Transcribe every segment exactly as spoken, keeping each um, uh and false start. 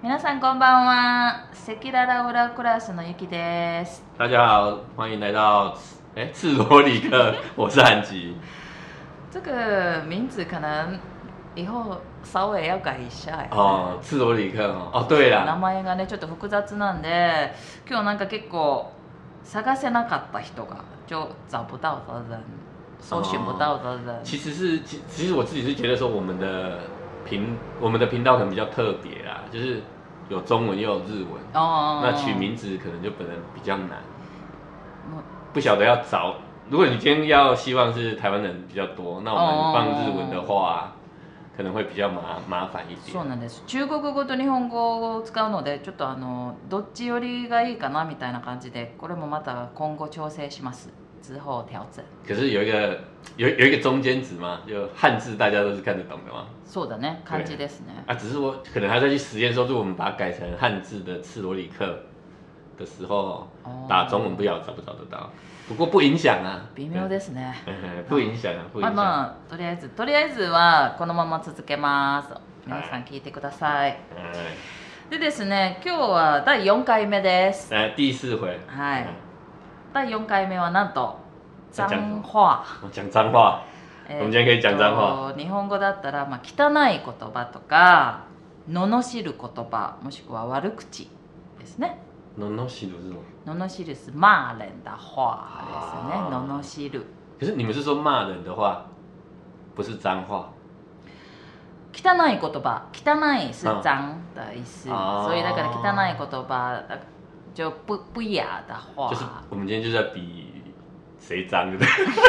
皆さんこんばんは。赤裸々裏クラスのゆきです。 大家好，欢迎来到哎赤裸里克，我是韩吉。 这个名字可能以后稍微要改一下呀。 哦，赤裸里克哦，哦对名啦， 前がねちょっと複雑なんで、今日なんか結構探せなかった人が就找不到的人，搜寻不到的人。 其实是其其实我自己是觉得说我们的频我们的频道可能比较特别啦，就是有中文又有日文， 哦， 那取名字可能就本来比较难，不晓得要找。如果你今天要希望是台湾人比较多，那我们放日文的话，可能会比较麻麻烦一点。 そうなんです。中国語と日本語を使うので、ちょっとあのどっち寄りがいいかなみたいな感じで、これもまた今後調整します。之後調整。 可是有一个有有一个中间值嘛，就汉字大家都是看得懂的嘛。 そうだね、漢字ですね。 啊，只是我可能还在去实验说，如果我们把它改成汉字的赤裸里克的时候，打中文不晓得找不找得到。不过不影响啊。 微妙ですね。 不影響啊，不影響。 まあまあとりあえずとりあえずはこのまま続けます。皆さん聞いてください。でですね、今日はだいよんかいめです。 来第四回。 はい。だいよんかいめはなんと脏話。 講髒話。我们今天可以讲脏話。 日本語だったら、まあ、汚い言葉とか罵る言葉もしくは悪口ですね。 罵る是什么？ 罵る是骂人的话ですね。罵る。 可是你们是说骂人的话，不是脏话。 汚い言葉、汚い是脏的意思，所以那个汚い言葉就不不雅的话。 就是我们今天就在比谁脏，对不对？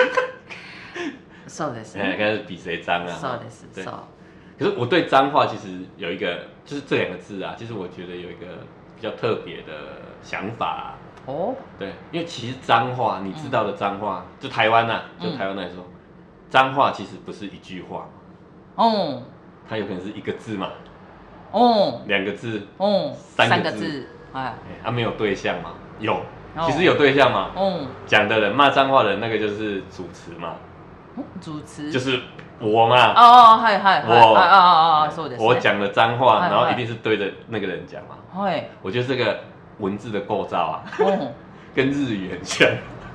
そうですね。应该是比谁脏啊。 そうです。そう。 可是我对脏话其实有一个，就是这两个字啊，其实我觉得有一个比较特别的想法、啊。哦。对，因为其实脏话，你知道的脏话，嗯、就台湾呐、啊，就台湾来说，脏、嗯、话其实不是一句话。哦。它有可能是一个字嘛。哦。两个字。哦。三个字。哎。啊，没有对象嘛？有。其实有对象嘛。哦。讲的人骂脏话的人，那个就是主词嘛。 主持就是我嘛。 哦哦，はいはいはい。 我啊啊啊，そうです。 我讲的脏话，然后一定是对着那个人讲嘛。 はい。 我觉得这个文字的构造啊，跟日语很像。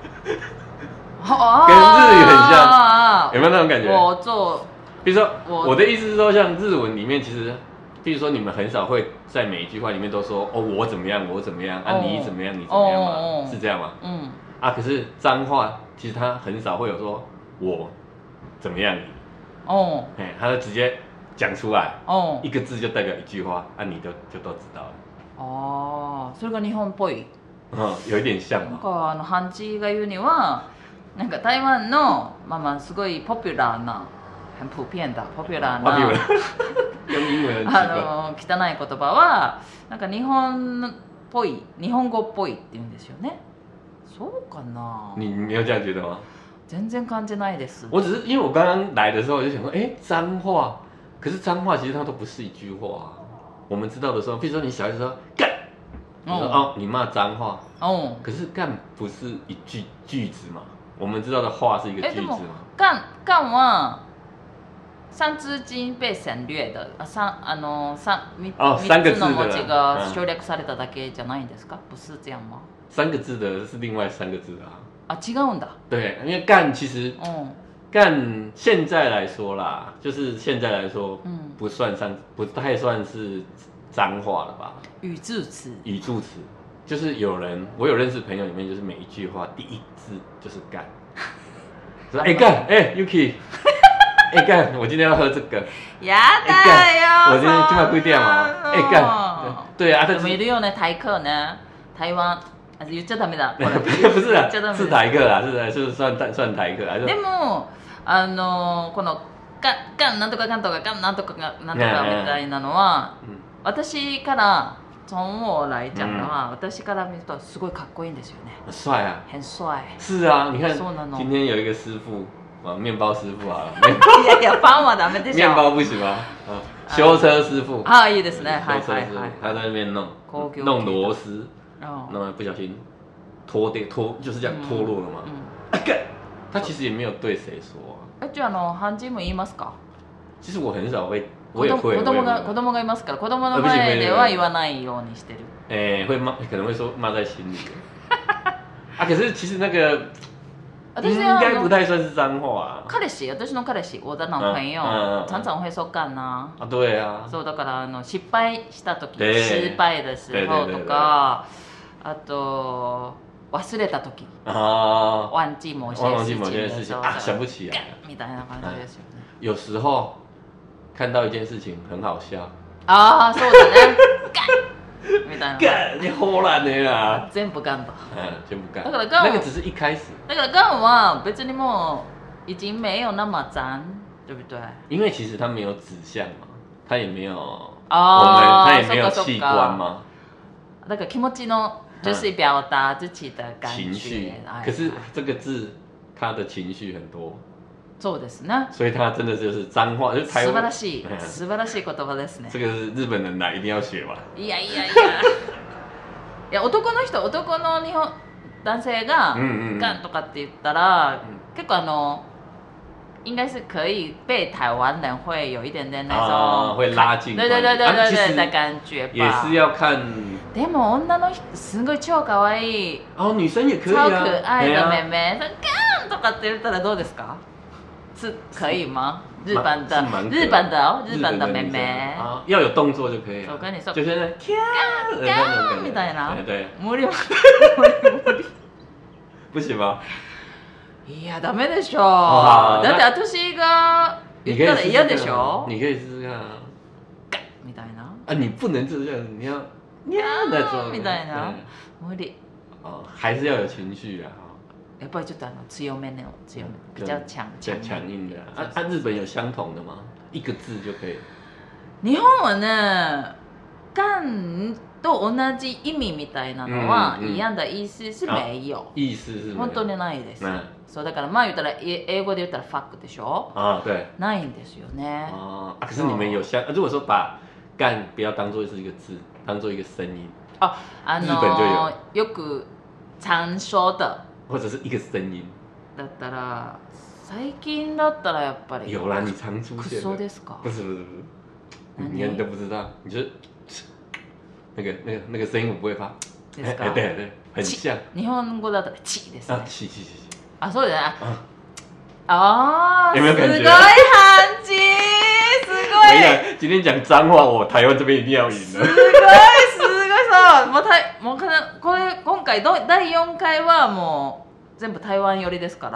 跟日语很像，有没有那种感觉？ 我做， 比如说，我的意思是说，像日文里面，其实，比如说你们很少会在每一句话里面都说哦我怎么样，我怎么样啊，你怎么样，你怎么样嘛，是这样吗？嗯。啊，可是脏话其实它很少会有说。我怎么样？哦，哎，他就直接讲出来，哦，一个字就代表一句话，啊，你就就都知道了。 哦，それが日本っぽい。 嗯，有一点像嘛。 なんかあのハンチが言うには、なんか台湾のまあまあすごいポピュラーな、很普遍だポピュラーな。 用英文あの汚い言葉はなんか日本っぽい、日本語っぽいって言うんですよね。そうかな。 你没有这样觉得吗？ 全然感じないです。 我只是因为我刚刚来的时候我就想说，哎，脏话，可是脏话其实它都不是一句话、啊。我们知道的时候，比如说你小孩子说干，你说哦，你骂脏话，哦，可是干不是一句句子嘛？我们知道的话是一个句子嘛？ 干干は三字经被省略的，三あの三哦三个字の文字が省略されただけじゃないんですか？不是这样吗？ 三个字的是另外三个字啊。 啊，違うんだ。 对，因为干其实，嗯，干现在来说啦，就是现在来说，嗯，不算上，不太算是脏话了吧？ 语助词。 语助词，就是有人，我有认识朋友里面，就是每一句话第一字就是干，说哎干，哎 Yuki， 哎干，我今天要喝这个。 やだよ。 我今天今晚几点嘛？哎干，对啊， でもいるよね、台客ね、台湾。言っちゃダメだ。 不是啊，是台客啦，是是算算台客。 でもあのこのががなんとかかんとかがなんとかがなんとかみたいなのは、私から从我来讲的话，私から見るとすごいかっこいいんですよね。 帅啊， 很帅。 是啊，你看今天有一个师傅，啊，面包师傅啊， いやいやパンはダメでしょ。 面包不行吗？啊，修车师傅。 啊，いいですね。 修车师傅，他在那边弄弄螺丝。那么不小心脱掉脱就是这样脱落了嘛？嗯，他其实也没有对谁说啊。 え、じゃあの漢字も言いますか？ 其实我很少会我也会。 子供が子供がいますから子供の前では言わないようにしてる。 哎，会骂，可能会说骂在心里。啊，可是其实那个应该不太算是脏话啊。 彼氏、私の彼氏、我的男朋友、常常会说干呐。 啊，对啊。 そうだからあの失敗した時、失敗的時候とか、あと忘れた時、忘記某些事情的時候， 啊，想不起来， みたいな感じですよね。 有时候看到一件事情很好笑。 ああ、そうだね。みたいな。 干，你好烂的啦。 全部干だ。 嗯，全部干。 だから干。 那个只是一开始。 だから干は別にもう已经没有那么脏，对不对？ 因为其实它没有指向嘛，它也没有我们，它也没有器官嘛。 だから気持ちの就是表达自己的感觉。 情绪。可是这个字，它的情绪很多。 そうですね。 所以它真的就是脏话，就是台湾。 素晴らしい、素晴らしい言葉ですね。 这个是日本人来一定要学吧？ いやいやいや。いや男の人、男の日本男性がガンとかって言ったら、結構あの应该是可以被台湾人会有一点点那种会拉近， 对对对对对对的感觉吧。 也是要看。 でも女の人すごい超可愛い。 哦，女生也可以啊。超可愛的妹妹，ガンとかって言ったらどうですか？是可以吗？日本的日本的哦，日本的妹妹啊，要有动作就可以。 我跟你说， 就是那ガンガンみたいな。 对。 無理無理無理。 不行吗？ いやダメでしょ。だって私が言ったら嫌でしょ。 你可以试试看啊。 ガンみたいな。 啊，你不能这样，你要ガンみたいな。無理。 哦，还是要有情绪啊。 やっぱりちょっとあの強めの強め比较强强强硬的。啊啊，日本有相同的吗？一个字就可以。 日本はね、ガンと同じ意味みたいなのは一样的意思是没有。 意思是本当にないです。そうだからまあ言ったら英語で言ったらファックでしょ。 啊，对。 ないんですよね。 啊，可是你们有相，如果说把干不要当做是一个字，当做一个声音。 あ、あの日本就有。 よく常说的。 或者是一个声音。 だったら最近だったらやっぱり。 有啦，你常出现。 クソですか？ 不是不是不是，你你都不知道，你就那个那个那个声音我不会发。 ですか？ 对对，很像。 日本語だったらチですね。 啊，チチチチ。 あ、そうだね。ああ、 有没有感觉？ すごい感じ，すごい。 今天讲脏話，我台湾这边一定要赢了。 すごいすごいさ、もうたもうこれ今回だいよんかいはもう全部台湾寄りですから、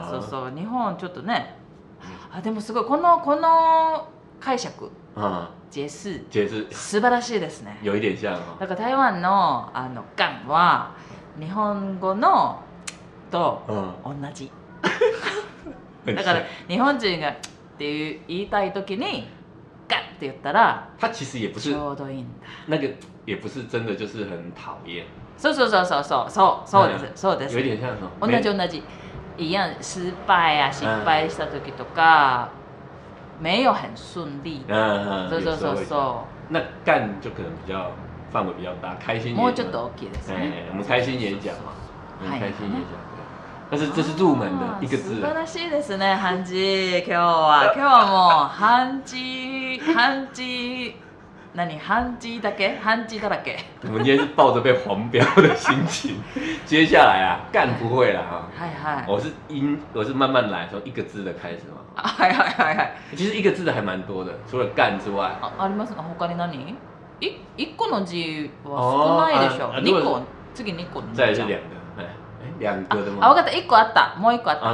そうそう日本ちょっとね。あ、でもすごいこのこの解釈。解释解释素晴らしいですね。 有一点像。 だから台湾のあのガンは日本語のと同じ。だから日本人がっていう言いたい時にガンって言ったら、 他其实也不是ちょうどいいんだ。 那个也不是真的就是很讨厌。 そうそうそうそうそうそうそうですそうです。 有点像什么？同じ同じ。一样失敗や失敗した時とか。没有很顺利。 嗯嗯， そうそうそうそう。 那干就可能比较范围比较大，开心。 もうちょっと大きいですね。 我们开心演讲嘛，我们开心演讲。但是这是入門的一个字。 素晴らしいですね、漢字。今日は今日はもう漢字漢字何漢字だけ漢字だらけ。 我们今天是抱着被黄标的心情。接下来啊，干不会了哈。 はいはい。 我是音，我是慢慢来，从一个字的开始嘛。 はいはいはいはい。 其实一个字的还蛮多的，除了干之外。 あ、ありますか？他に何？一一個の字は少ないでしょ。二個次二個。 再来是两个，哎哎两个的吗？ 啊，我かった一個あった，もう一個あった。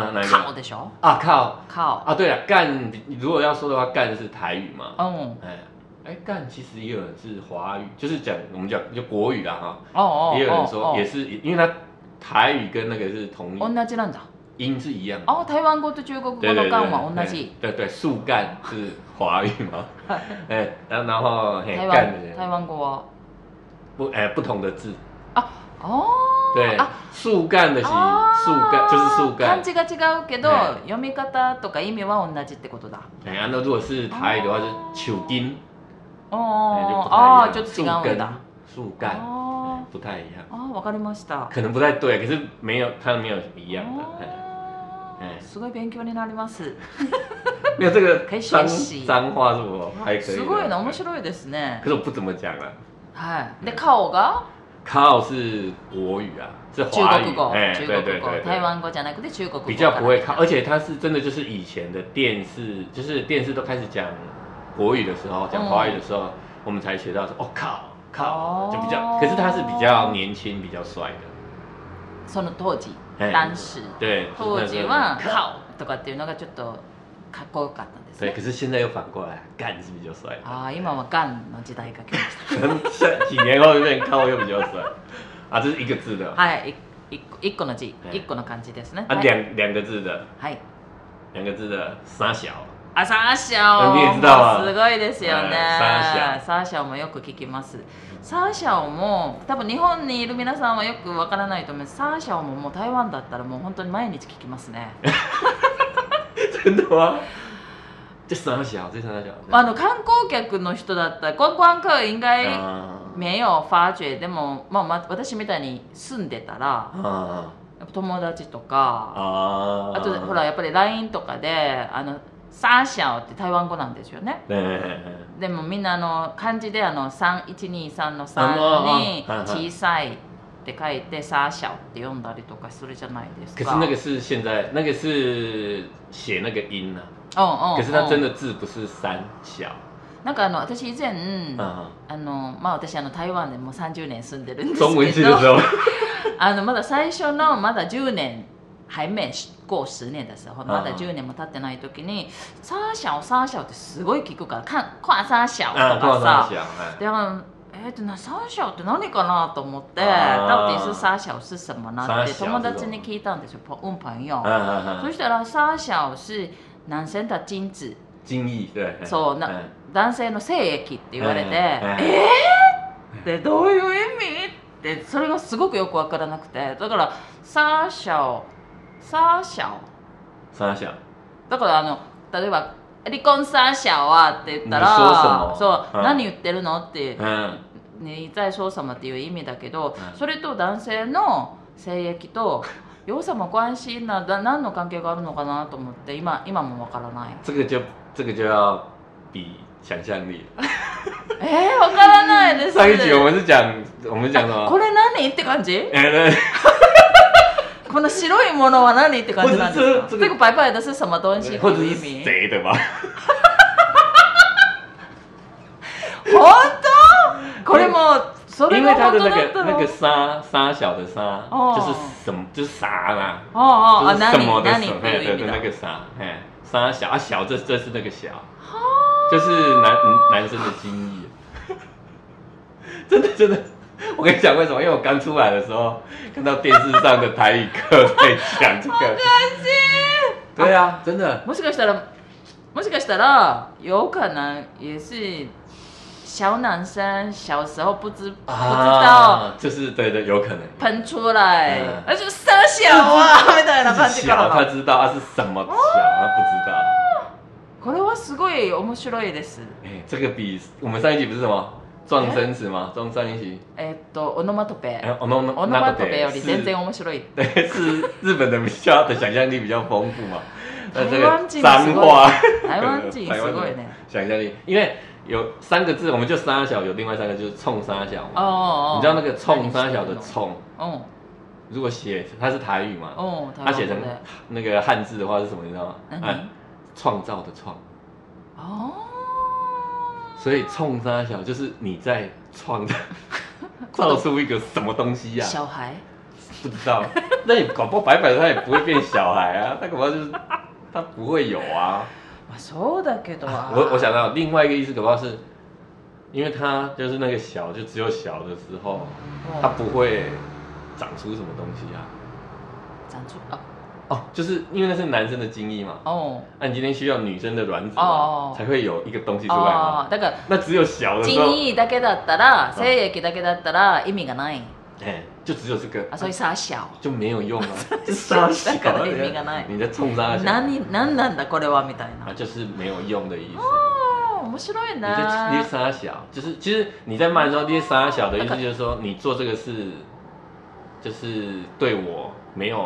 靠でしょ？ 啊靠靠啊对了，干如果要说的话，干是台语嘛。 嗯。 哎。哎，干其实也有人是华语，就是讲我们讲就国语啦哈。 哦哦。 也有人说也是，因为它台语跟那个是同音。 同じなんだ。 音是一样。 哦，台湾語と中国語の干は同じ。 对对，树干是华语嘛。哎，然后然后嘿干的台湾語は不哎不同的字。 啊哦。 对。樹干的是樹干，就是樹干。 漢字が違うけど読み方とか意味は同じってことだ。 哎，那如果是台语的话是树根。 哦哦，就違うんだ。 樹干不太一样。 哦，わかりました。 可能不太对，可是没有，它没有一样的。 すごい勉強になります。 没有这个脏脏话是我还可以。 すごいね、面白いですね。 可是我不怎么讲了。 はい。で、顔が？ 靠是国语啊，是华语。 哎，中国語。台湾語じゃなくて中国語。 比较不会靠，而且它是真的就是以前的电视，就是电视都开始讲国语的时候，讲华语的时候，我们才学到说哦靠靠，就比较，可是他是比较年轻，比较帅的。 その当時、当時。 对。 当時は靠とかっていうのがちょっとかっこよかったんですね。对，可是现在又反过来，干是比较帅。 啊，今は干の時代が来ました。几年后变靠又比较帅。啊，这是一个字的。 はい、一一個の字、一個の漢字ですね。 啊，两两个字的。 はい。 两个字的傻小。 あ、サーシャオ。 你也知道啊。 すごいですよね。 サーシャオ。 サーシャオもよく聞きます。サーシャオも多分日本にいる皆さんはよくわからないと思います。サーシャオももう台湾だったらもう本当に毎日聞きますね。 真的吗？这傻小，这傻小。 あの観光客の人だったら观光客应该没有发觉。でもまあ私みたいに住んでたら。友達とか あ, あとほらやっぱり ライン とかであのサーシャオって台湾語なんですよね。でもみんなあの漢字であのさんいちにさんのさんに小さいって書いてサーシャオって読んだりとかするじゃないですか。 可是那个是现在那个是写那个音啊。嗯嗯。可是它真的字不是三小。 なんかあの私以前あのまあ私あの台湾でもうさんじゅうねん住んでるんですけど。 中文系的时候。 あのまだ最初のまだじゅうねん还没过十年的时候、まだじゅうねんも経ってない時にサーシャオサーシャオってすごい聞くからか跨サーシャオとかさ、でえっとなサーシャオって何かなと思って、到底是サーシャオ是什么なって友達に聞いたんですよ、うん朋友。そしたらサーシャオ是男生的精子。 精液、对。 そうな男性の精液って言われて、えーってどういう意味ってそれがすごくよく分からなくて、だからサーシャオサーシャオサーシャオだからあの例えば離婚サーシャオはって言ったらそう、何言ってるのって、你在说什么っていう意味だけど、それと男性の精液と有什么关系な何の関係があるのかなと思って今今も分からない。 这个就这个就要比想象力。 えー、分からないです。 上一集我们是讲我们讲什么？ これ何って感じ？ え对。 この白いものは何って感じなんですか？这个白白的是什么东西？ 或者是谁的吧？ 本当？これもそれが本当だったの？ 因为它的那个那个沙沙小的沙，就是什么就是啥啦， 哦哦， 就是什么的什么， 对对对，那个啥，哎，沙小啊小，这这是那个小，就是男男生的精液，真的真的。我跟你讲为什么？因为我刚出来的时候看到电视上的台语课在讲这个。 好可惜。 对啊，真的。 もしかしたらもしかしたら有可能也是小男生小时候不知不知道， 就是对对，有可能喷出来，而且傻小啊みたいな感じから。 他知道他是什么小，他不知道。 これはすごい面白いです。 哎，这个比我们上一集不是什么？撞生词吗？撞上一集。 えっとオノマトペ。 オノオノマトペより全然面白い。 对，是日本的比较的想象力比较丰富嘛。 台湾人脏话。 台湾人すごいね。 想象力，因为有三个字，我们就沙小，有另外三个就是冲沙小嘛。 哦哦。 你知道那个冲沙小的冲？ 哦。 如果写它是台语嘛？ 哦。 它写成那个汉字的话是什么？你知道吗？哎，创造的创。 哦。 所以冲沙小就是你在创的，造出一个什么东西呀、啊？ 小孩不知道，那你搞不好白白的他也不会变小孩啊，他搞不好就是他不会有啊。 そうだけど啊。 我我想到另外一个意思，搞不好是，因为他就是那个小，就只有小的时候，他不会长出什么东西啊。 长出啊。 哦，就是因为那是男生的精液嘛。哦。那、啊、你今天需要女生的卵子嘛，哦、才会有一个东西出来嘛。 だから那只有小的时候。 精液だけだったら、精液だけだったら意味がない。 哎，就只有这个。 啊，所以傻小。 就没有用啊。傻小。 だから意味がない。 你在冲傻小。 何何なんだこれはみたいな。 啊，就是没有用的意思。 哦，面白いね。 你在捏傻小，就是其实你在骂的时候捏傻小的意思就是说，你做这个事，就是对我没有。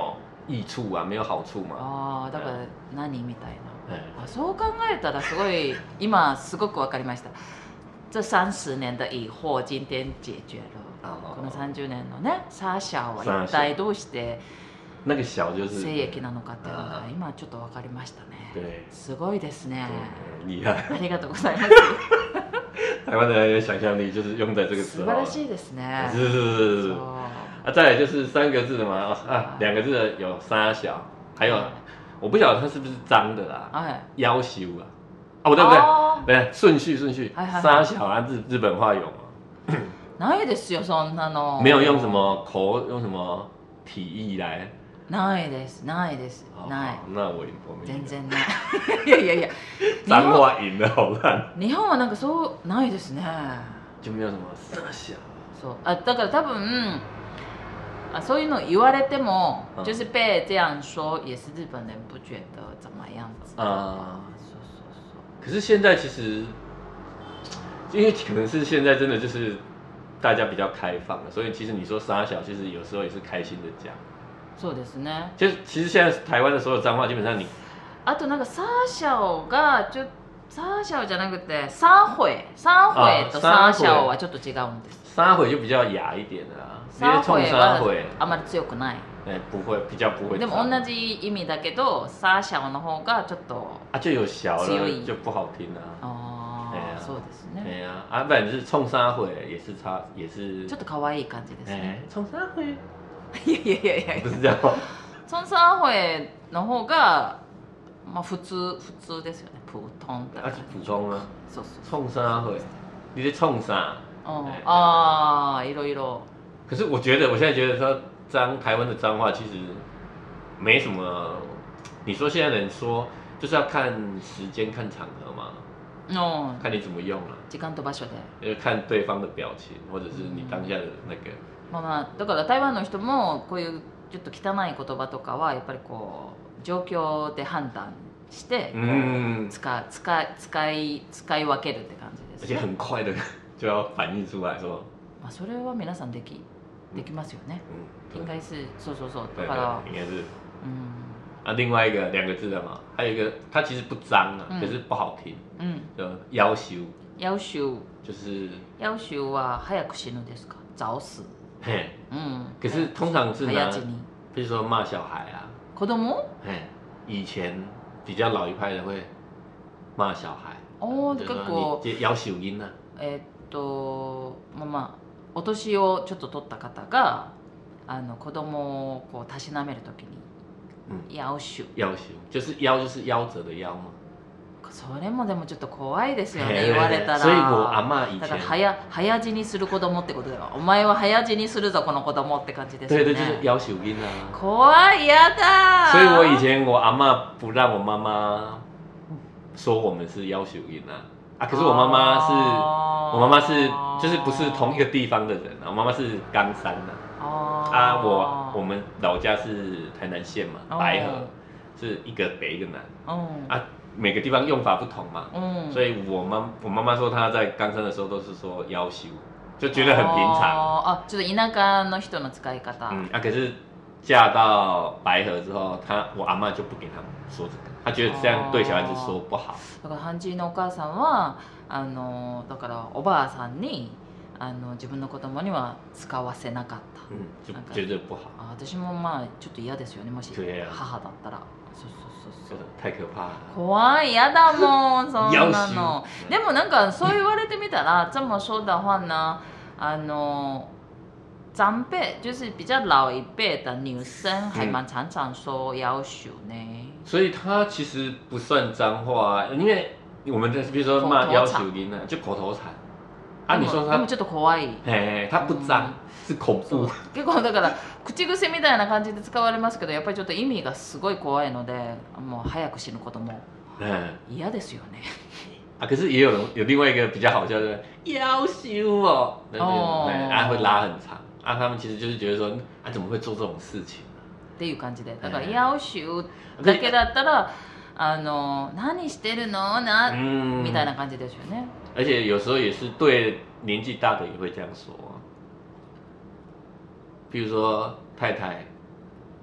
益处啊，没有好处嘛。 ああ、だから何みたいな。あ、そう考えたらすごい今すごくわかりました。这三十年的疑惑今天解决了。この三十年のね、サーシャは一体どうして那个小就是精液なのかっていうのが今ちょっとわかりましたね。 对， すごいですね。 厉害。 ありがとうございます。 台湾的人的想象力就是用在这个时候。 素晴らしいですね。 是是是。啊，再来就是三个字的嘛，啊，两个字的有沙小，还有我不晓得它是不是脏的啦，要求啊，哦不对不对，对顺序顺序，沙小啊日日本话有吗？ ないですよそんなの。 没有用什么口用什么体意来。 ないですないですない。 那我我没。 全然ない。いやいやいや。 脏话赢了好烂。 日本はなんかそうないですね。 就没有什么沙小。 そうあだから多分。啊，そういうの言われても，就是被这样说，也是日本人不觉得怎么样子啊。说说说。 可是现在其实，因为可能是现在真的就是大家比较开放了，所以其实你说沙小，其实有时候也是开心的讲。 そうですね。 就其实现在台湾的所有脏话，基本上你。 あとなんかサーシャオがちょサーシャオじゃなくてサーホエサーホエとサーシャオはちょっと違うんです。 サーホエ就比较哑一点的啦。 サーホエはあまり強くない。 哎，不会，比较不会。 でも同じ意味だけど、サーシャオの方がちょっと啊，就有小了，就不好听啊。 哦，そうですね。 哎呀，啊，不然就是冲沙回也是差，也是。 ちょっと可愛い感じですね。 冲沙回。 いやいやいやいや。 不是这样吗？ 冲沙回の方がまあ普通普通ですよね。普通的。 啊，是普通啊。 そうそう。 冲沙回，你在冲啥？ 哦啊，いろいろ。 可是我觉得，我现在觉得说脏台湾的脏话其实没什么。你说现在人说就是要看时间、看场合嘛，哦，看你怎么用了。 時間と場所で。 要看对方的表情，或者是你当下的那个。 まあまあだから台湾の人もこういうちょっと汚い言葉とかはやっぱりこう状況で判断して使う使い使い使い分けるって感じですね。 而且很快的就要反映出来说。 まあそれは皆さんでき。できますよね。应该是そうそうそうだから应该是嗯啊另外一个两个字的嘛，还有一个它其实不脏啊，可是不好听。嗯，就要求。 要求就是要求は早く死ぬですか？早死。 嘿，嗯，可是通常是拿，比如说骂小孩啊。 子供？ 嘿，以前比较老一派的会骂小孩。 哦，結構。 要求音啊。 えっとまあまあ。お年をちょっと取った方があの子供をこうたしなめるときに要求要求就是腰就是夭折的腰嘛。 それもでもちょっと怖いですよね言われたら。 所以我阿嬷以前だから早早死にする子供ってことだよ。お前は早死にするぞこの子供って感じですよね。 对对，就是要求音啊。 怖いやだ。 所以我以前我阿嬷不让我妈妈说我们是要求音啊。啊，可是我妈妈是，我妈妈是，就是不是同一个地方的人啊。我妈妈是冈山的。哦。啊，我我们老家是台南县嘛，白河，是一个北一个南。哦。啊，每个地方用法不同嘛。嗯。所以我妈我妈妈说她在冈山的时候都是说要求，就觉得很平常。 哦。啊，就是田舎の人の使い方。 嗯啊，可是嫁到白河之後，他我阿嬷就不給他們說這個，他覺得這樣對小孩子說不好。 だからハンジのお母さんはあのだからおばあさんにあの自分の子供には使わせなかった。 うん、就覺得不好。 あ、私もまあちょっと嫌ですよね、もし母だったら。そうそうそうそう。 太可怕了。 怖い、嫌だもんそんなの。でもなんかそう言われてみたら，这么说的话呢，あの。长辈就是比较老一辈的女生，还蛮常常说要求呢。 所以她其实不算脏话，因为我们的比如说骂要求音啊，就口头禅。啊，你说她， でもちょっと怖い。 嘿，她不脏，是恐怖。 結構だから口癖みたいな感じで使われますけど、やっぱりちょっと意味がすごい怖いので、もう早く死ぬことも嫌ですよね。 啊，可是也有人有另外一个比较好笑的要求哦，哦，啊会拉很长。啊，他们其实就是觉得说，啊，怎么会做这种事情？ っていう感じで、だから要求だけだったら、あの何してるのなみたいな感じですよね。 而且有时候也是对年纪大的也会这样说，比如说太太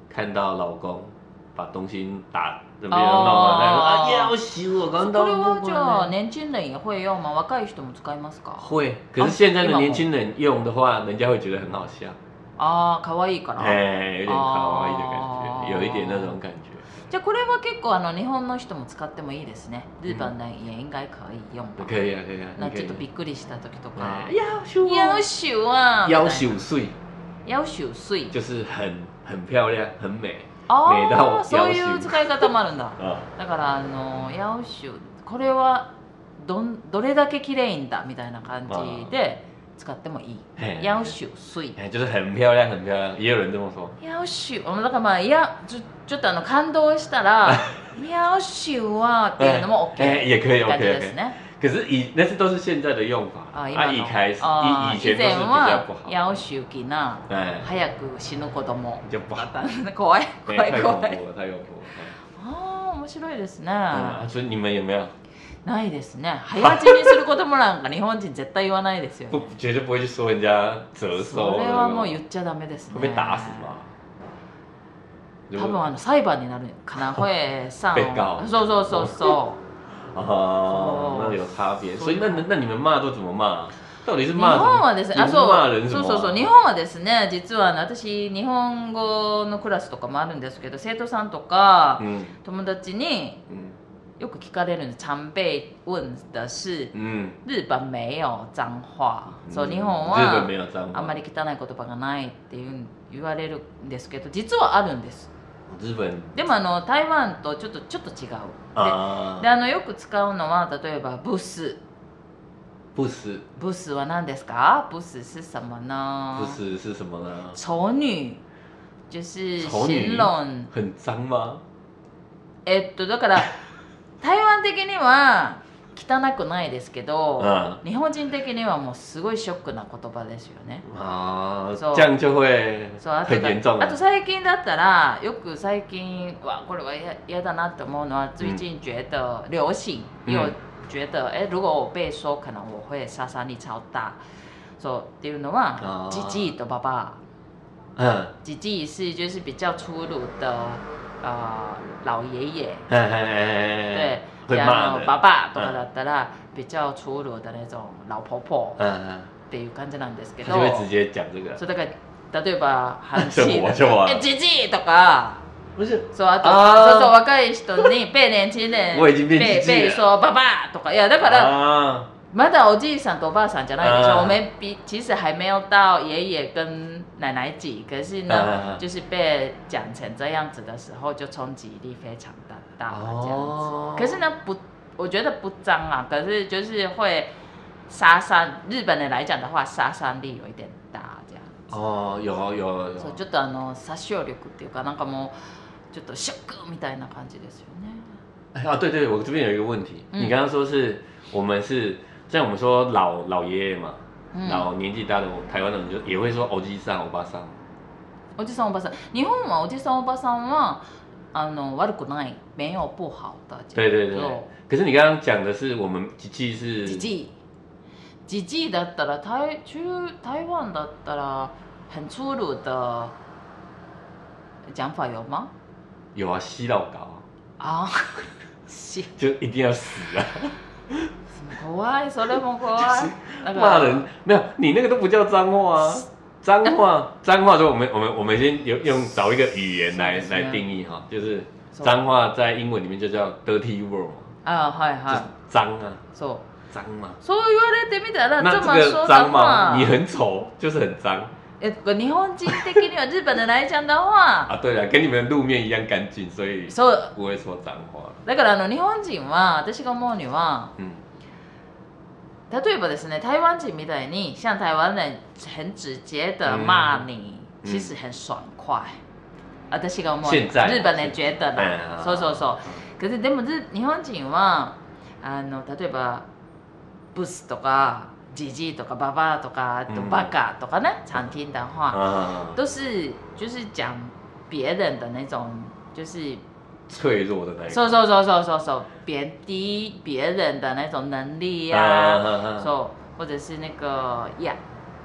看到老公把东西打没有弄完，他说啊要死我刚到。 これはじゃあ年轻人也会用吗？若い人も使いますか？ 会，可是现在的年轻人用的话，人家会觉得很好笑。 ああ、可愛いから。 哎，有点可愛い的感觉，有一点那种感觉。 じゃあこれは結構あの日本の人も使ってもいいですね。日本人也应该可以用吧。 可以啊，可以啊。 那ちょっとびっくりした時とか。 要求要求啊。 要求水。 要求水。 就是很很漂亮，很美。 美到そういう使い方もあるんだ。だからあの要求これはどどれだけ綺麗んだみたいな感じで使ってもいい。要求水。 就是很漂亮，很漂亮，也有人这么说。 要求、だからまあいやちょちょっとあの感動したら要求はっていうのも OK。 也可以 OK ですね。 可是以那是都是现在的用法。啊，一开始以以前都是比较不好。 要求期な早く死ぬ子供。 就不好。 怖い怖い怖い。 太恐怖了，太恐怖了。 ああ面白いですね。 所以你们有没有？ ないですね。早死にする子供なんか日本人絶対言わないですよ。 不，绝对不会去说人家折寿。 それはもう言っちゃダメですね。 会被打死吗？ 多分あの裁判になるかな。会上。 被告。 そうそうそうそう。 哦，那有差别。所以那那你们骂都怎么骂？到底是骂？ 日本はですね、あ、そう、 そうそうそう、日本はですね、実は私日本語のクラスとかもあるんですけど、生徒さんとか友達によく聞かれるんです。常被問的是、日本没有脏話。そう、日本はあんまり汚い言葉がないっていう言われるんですけど、実はあるんです。 日本でもあの台湾とちょっとちょっと違う。で、であのよく使うのは例えばブス。 不死， 不死は何ですか？不死是什么呢？ 不死是什么呢？ 丑女，就是形容很脏吗？ えっとだから台湾的には汚くないですけど、日本人的にはもうすごいショックな言葉ですよね。 ああ、这样就会很严重。 あと最近だったらよく最近わこれは嫌だなって思うのは最近觉得流行有。觉得哎，如果我被说，可能我会杀伤力超大。そうっていうのは、ジジイとババア。嗯，ジジイ是就是比较粗鲁的呃老爷爷。对，然后ババアとかだったら比较粗鲁的那种老婆婆。嗯っていう感じなんですけど。 他就会直接讲这个。 そうだから例えば韩系的えジジイとか。 不是， そうあとそうそう若い人に被年轻人我已经变被被说爸爸とかいやだからまだおじいさんとおばあさんじゃないでしょ。我们比其实还没有到爷爷跟奶奶级，可是呢，就是被讲成这样子的时候，就冲击力非常的大这样子。可是呢，不，我觉得不脏啊，可是就是会杀伤日本人来讲的话，殺傷力有一点大这样子。 哦，有有有。 そうちょっとあの殺傷力っていうかなんかもう。ちょっとショックみたいな感じですよね。 啊，对对，我这边有一个问题，嗯、你刚刚说是我们是像我们说老老爷爷嘛，嗯、老年纪大的台湾人就也会说おじさん、おばさん。 おじさん、おばさん。日本はおじさん、おばさんはあの悪くない，没有不好的。 对对对。可是你刚刚讲的是我们ジジイ是。 ジジイ。ジジイだったら台中台湾だったら很粗鲁的讲法有吗？ 有啊，吸到高啊，吸就一定要死啊！ 怖い，それも怖い。 骂人没有，你那个都不叫脏话啊！脏话，脏话，所以我们我们我们先用用找一个语言来来定义哈，就是脏话在英文里面就叫 dirty word 啊，はいはい， 脏啊， そう脏嘛。 そう言われてみたら那这么说脏嘛，你很丑就是很脏。 え日本人的には日本人来讲的话啊对了，跟你们路面一样干净，所以不会说脏話。 だからあの日本人は私が思うには、うん、例えばですね台湾人みたいに像台湾人很直接的骂你、嗯、其实很爽快。私が思う日本人觉得啦、そうそうそう。可是でも日本人はあの例えばブスとか。姐姐とか爸爸とかとバカとか呢，常听的话，都是就是讲别人的那种，就是脆弱的那种。 说说说说说说贬低别人的那种能力呀，说或者是那个呀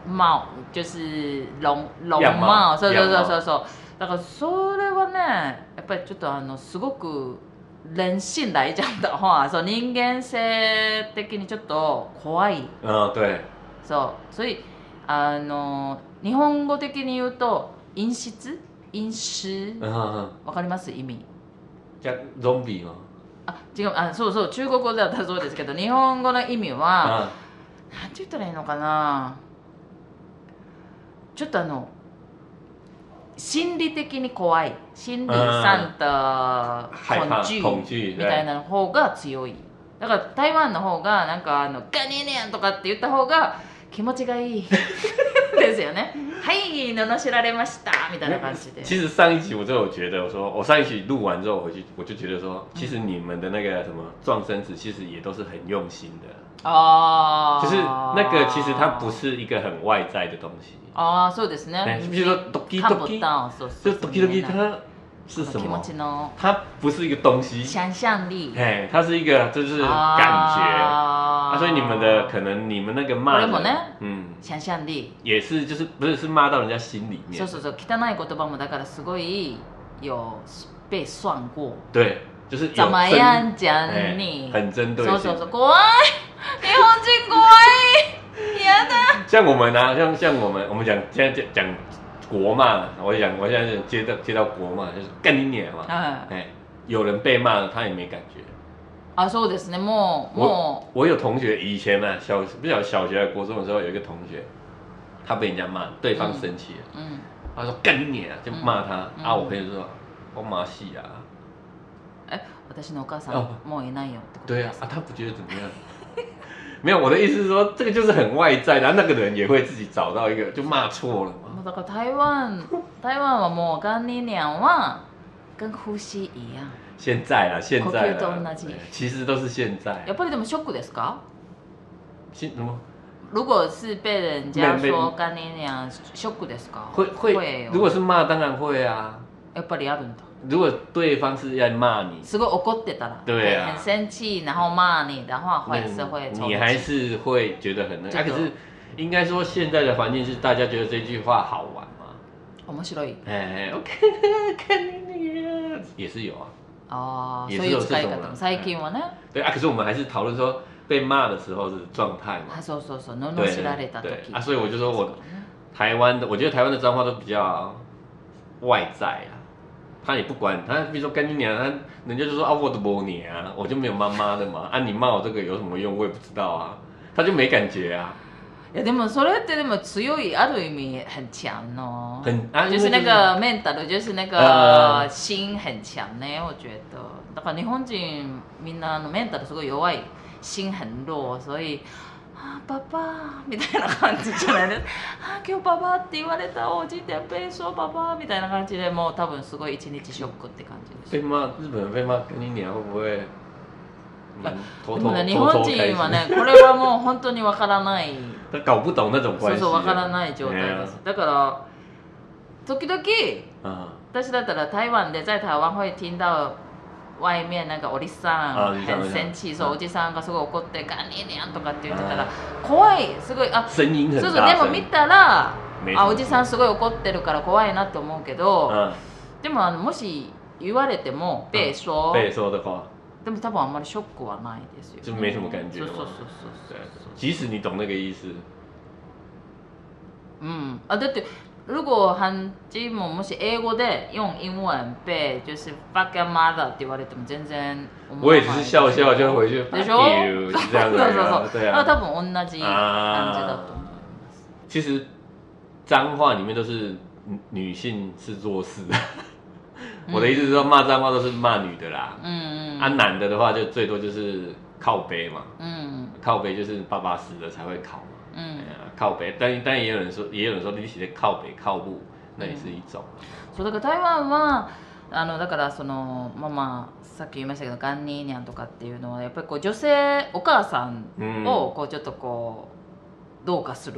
帽，就是龙龙帽，そうそうそうそうそう。だからそれはね、やっぱりちょっとあのすごく人性来讲的话，そう人間性的にちょっと怖い。 嗯，对。 そう、所以あの日本語的に言うと陰湿、陰湿、わかります意味？ じゃゾンビ吗？ あ、違う、あ、そうそう、中国語だったらそうですけど、日本語の意味は、なんて言ったらいいのかな。ちょっとあの心理的に怖い、心理上的恐惧みたいな方が強い。だから台湾の方がなんかあのガニネンとかって言った方が気持ちがいいですよね。はい、罵られましたみたいな感じで。 其实上一集我就有觉得，我说我上一集录完之后回去，我就觉得说，其实你们的那个什么撞生词，其实也都是很用心的。哦。就是那个其实它不是一个很外在的东西。 啊，そうですね。 比如说 doki doki， 就 doki doki 它是什么？它不是一个东西。 想象力。 哎，它是一个就是感觉。啊，所以你们的可能你们那个骂人， 嗯，想象力也是就是不是是骂到人家心里面。 そうそうそう、汚い言葉もだからすごい有被算过。 对，就是怎么样讲你， 很针对性。 そうそうそう、怖い，日本人怖い。 像我们啊，像像我们，我们讲现在讲国骂，我讲我现在接到接到国骂，就是干你娘嘛，哎，有人被骂了，他也没感觉。 啊，そうですね、もうもう。我有同学以前呢、啊，小不晓得小学还国中的时候，有一个同学，他被人家骂，对方生气了，嗯，他说干你娘，就骂他，嗯、啊，我朋友就说我马戏啊， 哎，私のお母さんもういないよってこと。 对啊，啊，他不觉得怎么样。没有，我的意思是说，这个就是很外在，然后那个人也会自己找到一个，就骂错了嘛。 だから台湾，台湾はもう干你娘は跟呼吸一样。 现在啦，现在啦，其实都是现在。 やっぱりでもショックですか？ 什么？ 如果是被人家说干你娘，ショックですか？ 会会，如果是骂，当然会啊。 やっぱりあるんだ。 如果对方是要骂你， すごい怒ってたら， 对啊， 很生气，然后骂你的话，还是会， 你还是会觉得很那。啊，可是应该说现在的环境是大家觉得这句话好玩嘛？ 面白い。 哎，我看看你也是有啊。 哦，そういう使い方。最近はね。 对啊，可是我们还是讨论说被骂的时候的状态嘛。 そうそうそう、罵られた時。 啊，所以我就说我台湾的，我觉得台湾的脏话都比较外在啊。他也不管他，比如说干你娘，他人家就说啊，我的母娘啊，我就没有妈妈的嘛，啊，你骂我这个有什么用？我也不知道啊，他就没感觉啊。 いやでもそれってでも強いある意味很强哦， 很啊， 就是那个 mental，就是那个心很强呢，我觉得。だから日本人みんなのメンタルすごい弱い、心很弱，所以。あ、パパみたいな感じじゃないですか。あ、今日パパって言われた、おじいて被说パパみたいな感じでもう多分すごい一日ショックって感じです。 被骂日本人被骂跟你娘会不会？ でもね、日本人はね、これはもう本当にわからない。 搞不懂那種關係。 そうそう、わからない状態です。だから時々私だったら台湾で在台湾会听到。外面那个おじさん很生气，说おじさんがすごい怒ってガニニャンとかって言ってたら怖い、すごいあ、 声音很大声。 そうそうでも見たらあおじさんすごい怒ってるから怖いなって思うけど、でもあのもし言われても被说被说的话， でも多分あんまりショックはないですよ。 就没什么感觉。 そうそうそうそう。 即使你懂那个意思。 うん。あ、だって如果韩基ももし英語で用英文被就是 fuck your mother って言われても全然我也只是笑笑就回去でしょ？ 这样子。 そうそうそう。 对啊。 那多分同じ感じだと思います。 其实脏话里面都是女性是弱势。我的意思是说骂脏话都是骂女的啦。嗯嗯。啊，男的的话就最多就是靠背嘛。嗯。靠背就是巴巴死的才会考嘛。嗯。靠北，但但也有人说，也有人说你写靠北靠部，那也是一種。 そうだから台湾はあのだからそのまあまあさっき言いましたけどガンニーニャンとかっていうのはやっぱりこう女性お母さんをこうちょっとこうどうかする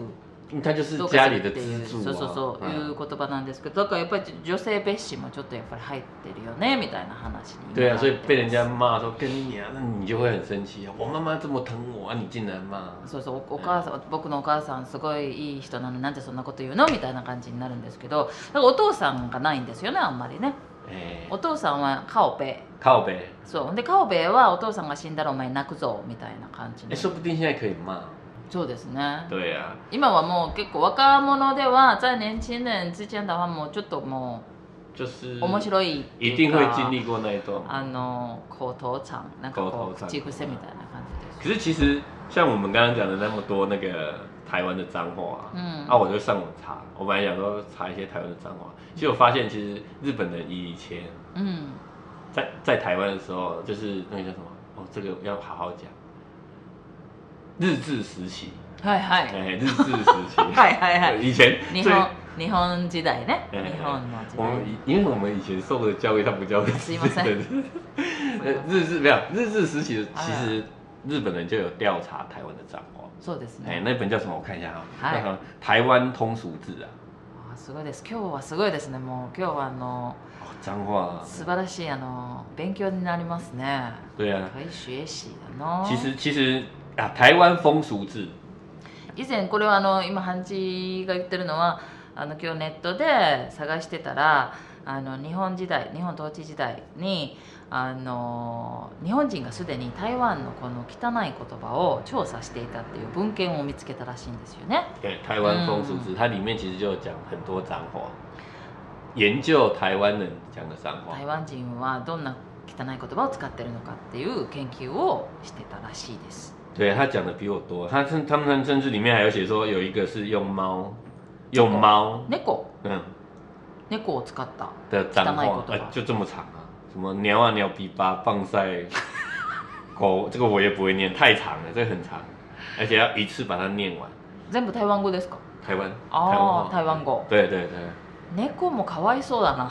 他就是家里的支柱、 そうそうそう、うん、いう言葉なんですけど、だからやっぱり女性蔑視もちょっとやっぱり入ってるよねみたいな話に。 对啊，所以被人家骂说跟你啊，那你就会很生气啊。我妈妈这么疼我啊，你竟然骂。 そうそう、お母さん、僕のお母さんすごいいい人なのになんでそんなこと言うのみたいな感じになるんですけど、だからお父さんがないんですよね、あんまりね。えー、お父さんはカオベ。 カオベ。 そうでカオベはお父さんが死んだらお前泣くぞみたいな感じえ、说不定现在可以骂。 そうですね。 对啊。 今はもう結構若者では在年轻人之間ではもうちょっともう就是面白い一定会经历过那一段。 あの口頭禅なんかこう口癖みたいな感じです。 可是其实像我们刚刚讲的那么多那个台湾的脏话，嗯，啊，我就上网查，我本来想说查一些台湾的脏话，结果发现其实日本人以前，嗯，在在台湾的时候，就是那个叫什么？哦，这个要好好讲。日治时期， はいはい、 哎，日治时期， はいはいはい， 以前日本日本時代ね，日本の時代。 我们因为我们以前受的教育，他不叫日治，日治没有日治时期，其实日本人就有调查台湾的脏话。 そうですね。 哎，那本叫什么？我看一下哈，はい、台湾通俗志啊。 あ、すごいです。今日はすごいですね。もう今日はあの。 脏话素晴らしいあの勉強になりますね。 对啊。 可以学習だな。 其实其实。あ、台湾風俗志。 以前これはあの今ハンチが言ってるのはあの今日ネットで探してたらあの日本時代日本統治時代にあの日本人がすでに台湾のこの汚い言葉を調査していたっていう文献を見つけたらしいんですよね。 对，台湾风俗志、嗯、它里面其实就讲很多脏话，研究台湾人讲的脏话。 台湾人はどんな汚い言葉を使ってるのかっていう研究をしてたらしいです。 对，他讲的比我多，他甚他们甚至里面还有写说有一个是用猫，用猫， 猫， 嗯， 猫を使った的脏话，哎、就这么长啊，什么鸟啊鸟鼻巴放在狗，这个我也不会念，太长了，这个很长，而且要一次把它念完。 全部台湾語ですか？ 台湾， ああ、台湾語。 对对对。 猫もかわいそうだな。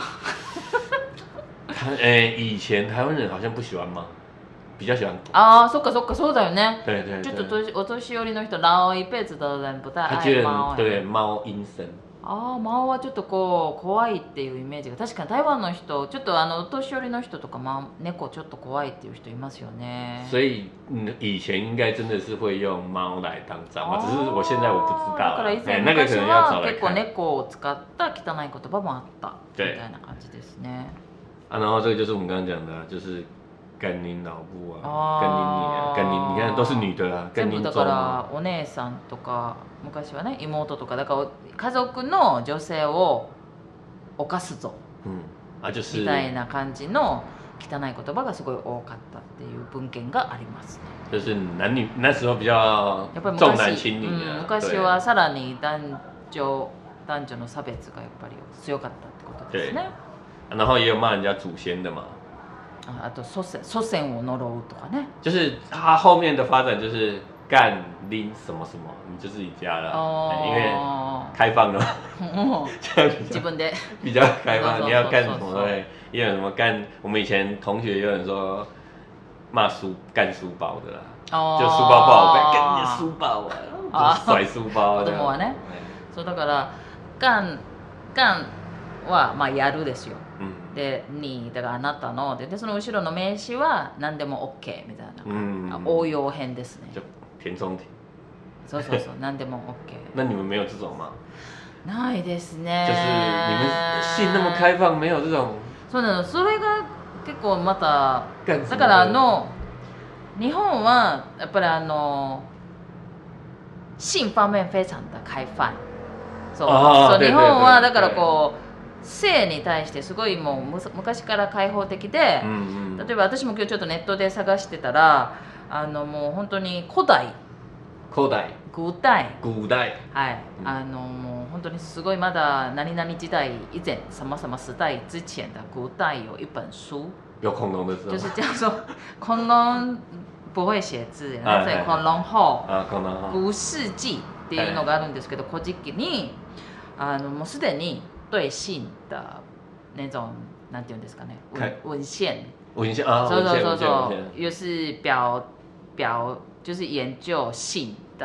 哎，以前台湾人好像不喜欢猫。比较喜欢狗啊，そっかそっかそうだよね。 对对对。 ちょっとお年寄りの人老一辈子的人不太愛猫。 对猫陰森。 ああ、猫はちょっとこう怖いっていうイメージが確かに台湾の人ちょっとあのお年寄りの人とかま猫ちょっと怖いっていう人いますよね。 所以以前应该真的是会用猫来当脏话，只是我现在我不知道。 だから以前昔は結構猫を使った汚い言葉もあったみたいな感じですね。 啊，然后这个就是我们刚刚讲的，就是。干您老母啊，干您你啊，干您你看都是女的啊，干您全部だからお姉さんとか昔はね妹とかだから家族の女性を犯すぞ、うん、あ就是みたいな感じの汚い言葉がすごい多かったっていう文献がありますね。 就是男女那时候比较重男轻女的、うん、昔はさらに男女男女の差別がやっぱり強かったってことですね。 然后也有骂人家祖先的嘛。 あと祖先祖先を呪うとかね。 就是它后面的发展就是干拎什么什么，你就自己加了，因为开放了嘛， 自分で比较开放，你要干什么对，也有什么干，我们以前同学有人说骂书干书包的啦，就书包不好干，干你的书包啊，甩书包。 子供はね、そうだから干干はまあやるですよ。でにだからあなたの で, でその後ろの名詞は何でも OK みたいな、うん、応用編ですね。 填充题。 そうそうそう何でも OK。 那你们没有这种吗？ ないですね。 就是你们性那么开放，没有这种。 そうなの。それが結構まただからあの日本はやっぱりあの性方面非常的開放。そうそう日本はだからこう。性に対してすごいもう昔から開放的で、うんうん、例えば私も今日ちょっとネットで探してたらあのもう本当に古代古代古代古代はい、うん、あのもう本当にすごいまだ何々時代以前什么什么时代之前的古代有一本书， 有恐龙的时候就是叫做恐龙不会写字なぜ恐龍法古世紀っていうのがあるんですけど、古事記にあのもうすでに对性的那种なんていうんですかね文献文献啊， そうそうそうそう，又是表表就是研究性的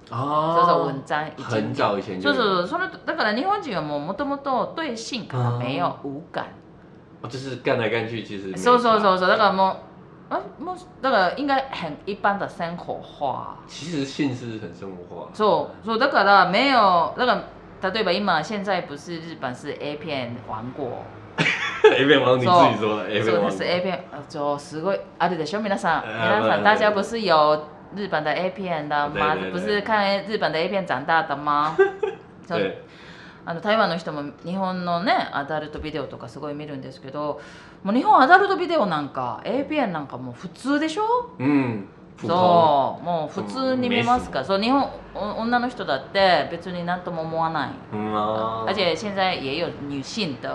そうそう文章已经很早以前就そうそうそのだから日本人はもうもともと对性可能没有无感。 哦，就是干来干去，其实そうそうそうそうだからもう啊，もうだから应该很一般的生活化。 其实性是很生活化。 そうそうだから没有だから例えば今现在不是日本是 A 片王国。 A 片王你自己说的 A 片王。 そうです A 片就是ごいあるでしょ皆さん皆さん大家不是有日本的 A 片的吗？不是看日本的 A 片长大的吗？ 对。 あの台湾の人も日本のねアダルトビデオとかすごい見るんですけど、もう日本アダルトビデオなんか A 片なんかもう普通でしょ？うん。そうもう普通に見ますから、そう日本女の人だって別に何とも思わない。而且现在也有女性的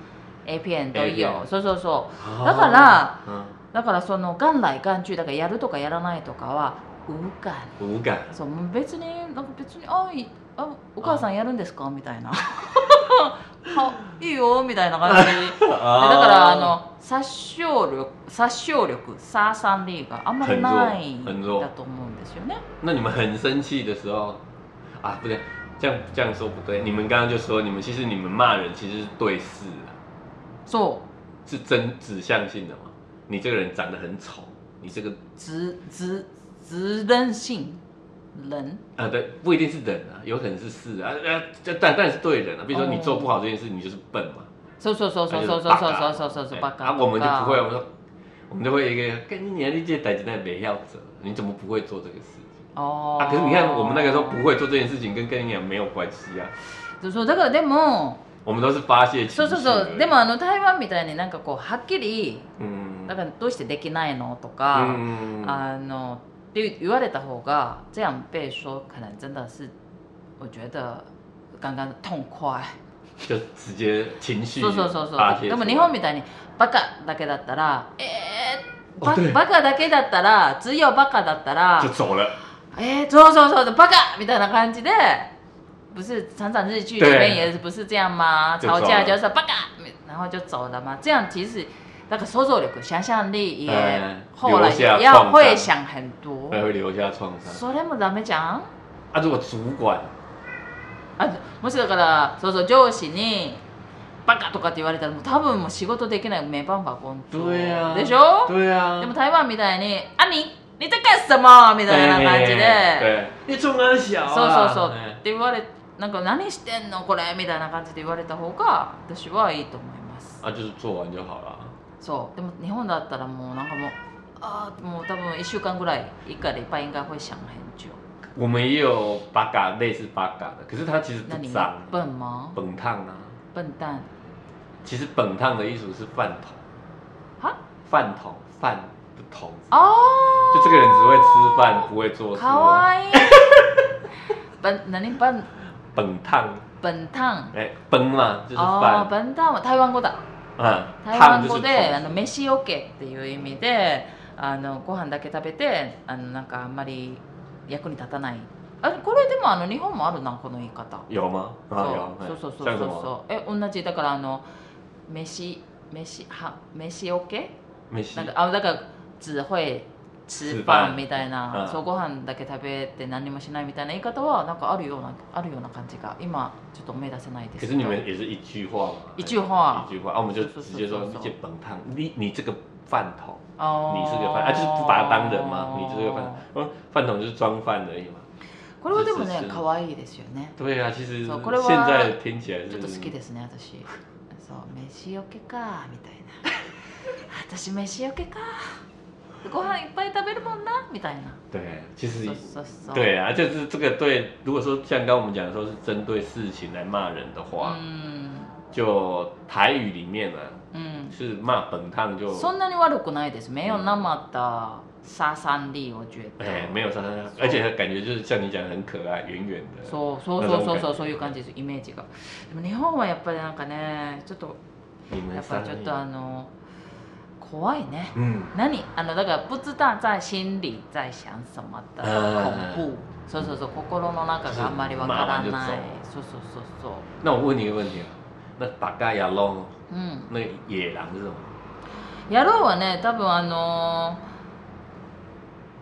A 片都有。そうそうそう。だからだからその元来元去だからやるとかやらないとかは無感。 無感。そう別になんか別にあいあお母さんやるんですかみたいなはいいよみたいな感じだからあの殺傷力殺傷力殺傷力があんまりないんだと思うんですよね。 那你们很生气的时候啊，不对，这样这样说不对。你们刚刚就说你们其实你们骂人其实是对事啊， そう是真指向性的嘛？你这个人长得很丑，你这个指指指人性。人啊，对，不一定是人啊，有可能是事啊，啊，但但是对人啊，比如说你做不好这件事，你就是笨嘛。 そうそうそうそうそうそうそうそうそうそうバカ。 啊，我们就不会，我们说，我们就会一个跟你你这代志那没要者，你怎么不会做这个事情？哦。啊，可是你看我们那个时候不会做这件事情，跟跟你讲没有关系啊。 そうそうだからでも。 我们都是发泄情緒。 そうそうそう。でもあの台湾みたいになんかこうはっきり、だからどうしてできないのとか、あの。言われた方が这样被说可能真的是我觉得刚刚痛快就直接情緒そうそうそうそうでも日本みたいにバカだけだったらえー、バ, バカだけだったら只有バカだったら就走了えー、そうそうそうバカみたいな感じで不是常常日剧里面也不是这样吗？吵架就是バカ然后就走了嘛，这样其实那个想像力、想象力也后来要会想很多， 会留下创伤。 それもダメじゃん？ 啊，如果主管， あ、もしだからそうそう上司にバカとかって言われたらもう多分もう仕事できない没办法工作。 对啊。 でしょ？ 对啊。 でも台湾みたいにあ你你在干什么みたいな感じで。 对。你冲哪小啊？ そうそうそうって言われなんか何してんのこれみたいな感じで言われた方が私はいいと思います。 あ、就是做完就好了。 そうでも日本だったらもうなんかもうあもう多分一週間ぐらい一个礼拜应该会想很久。 我们也有八嘎类似八嘎的，可是它其实不脏。 笨吗？ 本烫啊。 笨蛋。 其实本烫的意思是饭桶。 哈？ 饭桶，饭的桶。 哦。 就这个人只会吃饭，不会做事。 かわいい。本何本？ 本烫。 本烫。 哎，本嘛就是饭。 哦，本烫は台湾語だ。台湾語であの飯オケっていう意味であのご飯だけ食べてあのなんかあんまり役に立たない。あこれでもあの日本もあるなこの言い方。 有吗？ そうそうそうそうそう。え同じだからあの飯飯は飯オケ？ 飯。 なんかあだから只会吃飯みたいな、そうご飯だけ食べて何もしないみたいな言い方はなんかあるようなあるような感じが今ちょっと思い出せないですけど。 可是你们也是一句话嘛？ 一句话。 一句话啊，我们就直接说你这本烫，你你这个饭桶，你是个饭啊，就是不把它当人嘛，你就是个饭，嗯，饭桶就是装饭而已嘛。 これはでもね可愛いですよね。 对啊，其实现在听起来是ちょっと好きですね私。そう飯オケかみたいな。私飯オケか。ご飯いっぱい食べるもんなみたいな。 对，其实对啊，就是这个对。如果说像刚刚我们讲的说是针对事情来骂人的话，嗯，就台语里面呢，嗯，是骂本烫就。 そんなに悪くないです。没有那么的杀伤力，我觉得。 哎，没有杀伤力，而且感觉就是像你讲的很可愛、圆圆的。 そうそうそうそうそうそういう感じですイメージが。でも日本はやっぱりなんかね、ちょっとやっぱちょっとあの。怖いね。嗯，何あのだから不知道在心里在想什么的恐怖。そうそうそう心の中があんまりわからない。そうそうそうそう。 那我问你一个问题啊，那八嘎野狼，嗯，那野狼是什么？ 野狼はね多分あの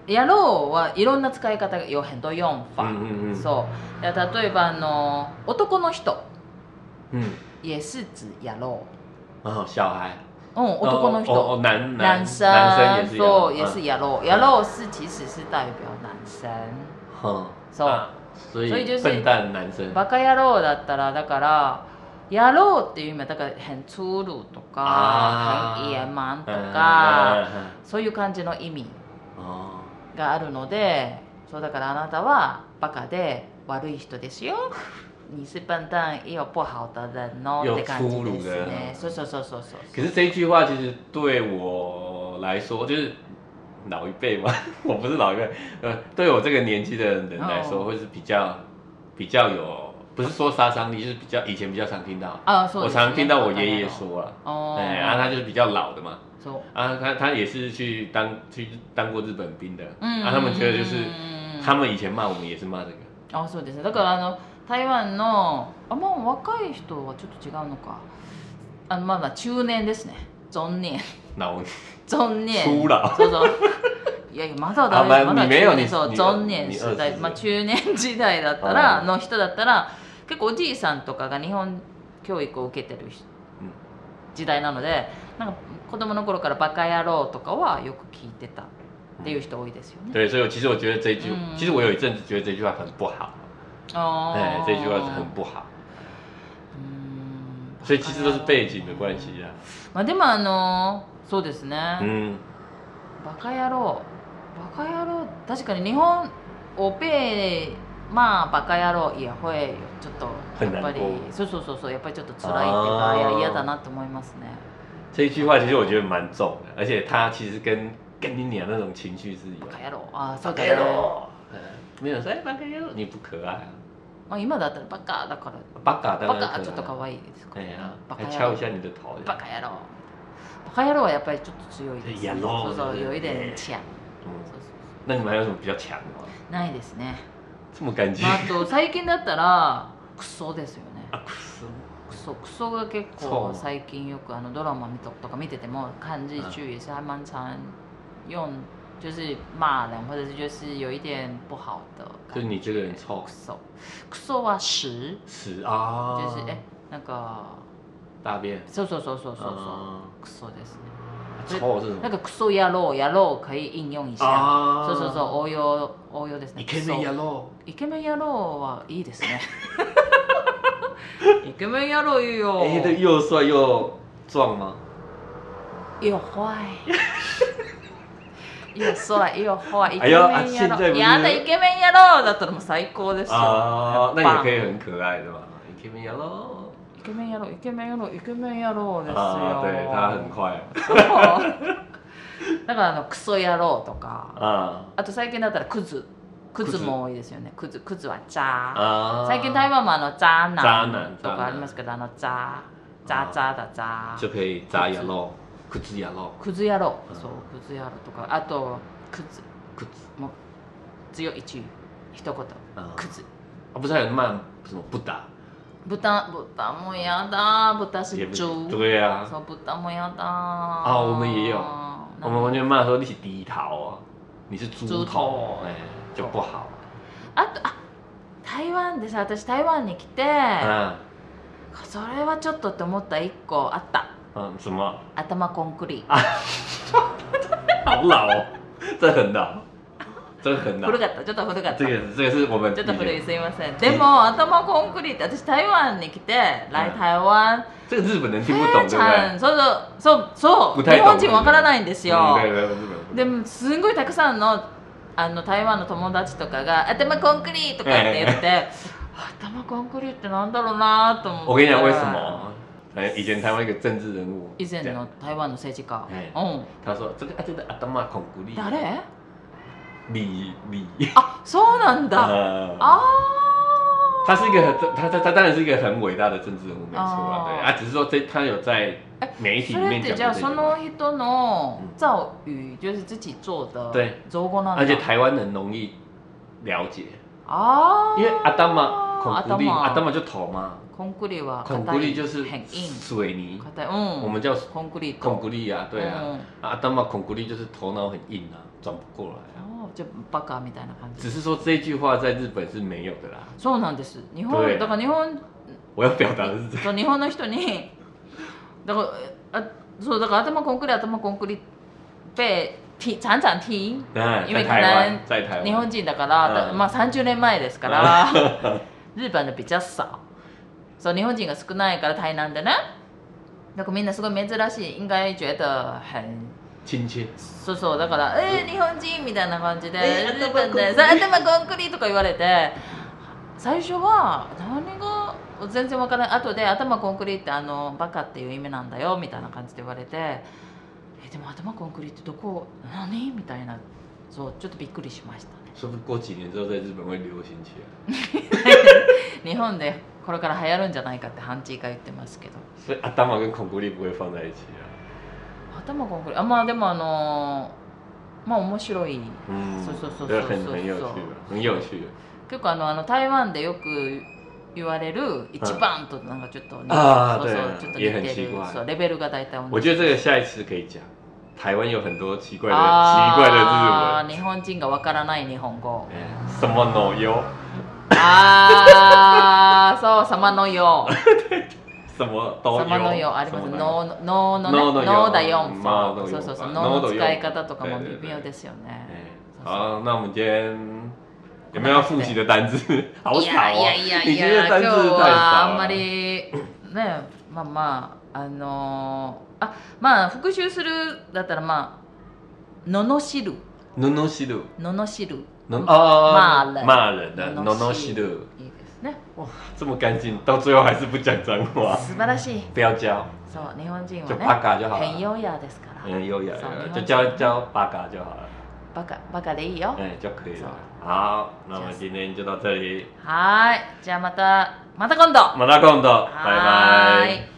やろうはいろんな使い方が有很多用法、 嗯嗯嗯そう例えばあの男の人嗯也是指やろう哦小孩う、うん、男の人、 哦哦男男生男生也是そう也是やろう、やろう是其实是代表男生， 嗯そう、 啊所以所以就是笨蛋男生バカ野郎だったらだからやろうっていう意味はだから很粗鲁とか很野蛮とかそういう感じの意味があるので、そうだからあなたはバカで悪い人ですよ。你是笨蛋也有不好的人哦って感じですね。そうそうそうそうそう。 可是这一句话其实对我来说，就是老一辈嘛，我不是老一辈，呃，对我这个年纪的人来说， 哦会是比较比较有，不是说杀伤力，就是比较以前比较常听到。 啊，我常听到我爷爷说了， 哦， 哎，啊，他就是比较老的嘛。 そう啊，他他也是去当去当过日本兵的， 嗯啊，他们觉得就是他们以前骂我们也是骂这个。 あ、そうですね。だからあの台湾のあまあ若い人はちょっと違うのか。あのまあまあ中年ですね。中年。 老中年。 初老。 そうそう。いやいやまだだあまあまだ你没有你そう你中年你世代、 二十まあ中年時代だったらの人だったら結構おじいさんとかが日本教育を受けてる時代なので、なんか子供の頃からバカ野郎とかはよく聞いてたっていう人多いですよね。 对，所以其实我觉得这一句， 嗯其实我有一阵子觉得这句话很不好。 哦， 哎，这句话是很不好。 うん。 所以其实都是背景的关系啊。 まあでもあのそうですね。 嗯。 バカ野郎、バカ野郎、確かに日本おペまあバカ野郎也会ちょっとやっぱりそうそうそうそうやっぱりちょっと辛いっていうか、いや嫌だなと思いますね。 这一句话其实我觉得蛮重的，而且它其实跟跟你娘那种情绪是一样。 バカ野郎、あ、そうバカだね。 野郎。没有说哎，バカ野郎，你不可愛。 まあ今だったらバカだから。 バカだバカちょっと可愛いですか。 哎呀， バカ还敲一下你的头。 バカ野郎。バカ野郎はやっぱりちょっと強いですね。 野郎。 そうそう有一点強。 那你们还有什么比较強的吗？ ないですね。 这么干净。 あと最近だったらクソですよね。 あ、クソ。 クソクソが結構最近よくあのドラマとか見てても看日剧也是还蛮常用，就是骂人或者是就是有一点不好的。 就是你这个人臭。 クソ。クソは屎。 屎啊。 就是えなんか。 大便。 そうそうそうそうそうそう。クソですね。 臭是什么？ なんかクソ野郎野郎可以应用一下。そうそうそう応用応用ですね。 イケメン野郎。 イケメン野郎はいいですね。イケメン野郎いいよ。 哎，这又帅又壮吗？ 又坏。又帅又坏。イケメン野郎。 哎呦啊现在不是やだイケメン野郎だったらもう最高ですよ。 啊，那也可以很可愛的嘛。イケメン野郎。 イケメン野郎イケメン野郎イケメン野郎ですよ。 啊，对，他很快。 だからあのクソ野郎とか。 ああと最近だったらクズ。クズも多いですよね。クズクズはザー。 最近台湾もあのザーナンとかありますけど、あのザーザーザーだザー。 就可以ザ野郎、クズ野郎。 クズ野郎、そうクズ野郎とか、あとクズクズも強い一一言クズ。 啊，不是还有骂什么不打？ 豚豚もやだ、豚是猪。 对啊。 そう豚もやだ。 啊，我们也有，我们完全骂说你是低头啊，你是猪头，哎。就不好。 あとあ台湾でさ、私台湾に来て、それはちょっとって思った一個あった。 嗯，什么？ 頭コンクリ。 好老哦，这很老，这很老。 古かった、ちょっと古かった。 这个这个是我们。 ちょっと古いすいません。でも頭コンクリって私台湾に来て来台湾。 这个日本人听不懂，对不对？ そうそうそう。日本人わからないんですよ。でもすごいたくさんのあの台湾の友達とかが頭コンクリとかって言って、頭コンクリってなんだろうなと思って。 我跟你讲为什么？以前台湾一个政治人物。 以前の台湾の政治家。 うん。他说这个啊这个頭コンクリ。 誰？ 李李。 あ、そうなんだ。ああ。他是一个很他他他当然是一个很伟大的政治人物，没错啦，对啊，只是说这他有在媒体里面讲过这句话。 じゃあその人の造语就是自己做的造語なんだ。 而且台湾人容易了解啊， 因为頭孔骨力，阿当嘛就头嘛。 孔骨力は孔骨力就是很硬， 水泥。 嗯， 我们叫孔骨力。 孔骨力啊，对啊。阿当嘛孔骨力就是头脑很硬啊，转不过来啊。 哦，就バカみたいな感じ。 只是说这句话在日本是没有的啦。 そうなんです。日本だから日本。 我要表达的是这个。日本の人にだからあそうだから頭コンクリ頭コンクリ被听常常听，因为可能日本人だから、まあさんじゅうねんまえですから、日本的比较少。そう日本人が少ないから台南でね。だからみんなすごい珍しい、应该觉得很親切。 そうそうだからえー、日本人みたいな感じで、日本で頭コンクリとか言われて、最初は何が全然わからない。後で頭コンクリってあのバカっていう意味なんだよみたいな感じで言われて、えでも頭コンクリってどこ何みたいな、そうちょっとびっくりしましたね。 说不定过几年之后在日本会流行起来。日本でこれから流行るんじゃないかってハンチーが言ってますけど。 所以頭跟孔骨力不会放在一起啊。 頭コンクリあまあでもあのまあ面白い。 うん。 そうそうそうそうそう。 很很有趣很有趣。 結構あのあの台湾でよく言われる一番となんかちょっと、 啊， 对， ちょっと似てる。 そうレベルが大体同じ。 我觉得这个下一次可以讲。台湾有很多奇怪的奇怪的日文。 日本人がわからない日本語。 什么のよ。 ああ、そう什么のよ。 什么都有。 什么のよあります。のののね、のだよ。そうそうそう。のの使い方とかも微妙ですよね。 好，那我们今天有没有要复习的单字？好少哦。 いやいやいやいや、今日はあんまりね、まあまああのあまあ復習するだったらまあののしる。 ののしる。 ののしる。 啊，骂人。骂人的ののしる。 いいですね。 哇，这么干净，到最后还是不讲脏话。 素晴らしい。 不要教。 そう日本人はね。 就バカ就好了。 很優雅ですから。 很優雅。就教教バカ就好了。 バカバカでいいよ。 哎，就可以了。好，那么今天就到这里。 はい、じゃあまたまた今度。 また今度。バイバイ。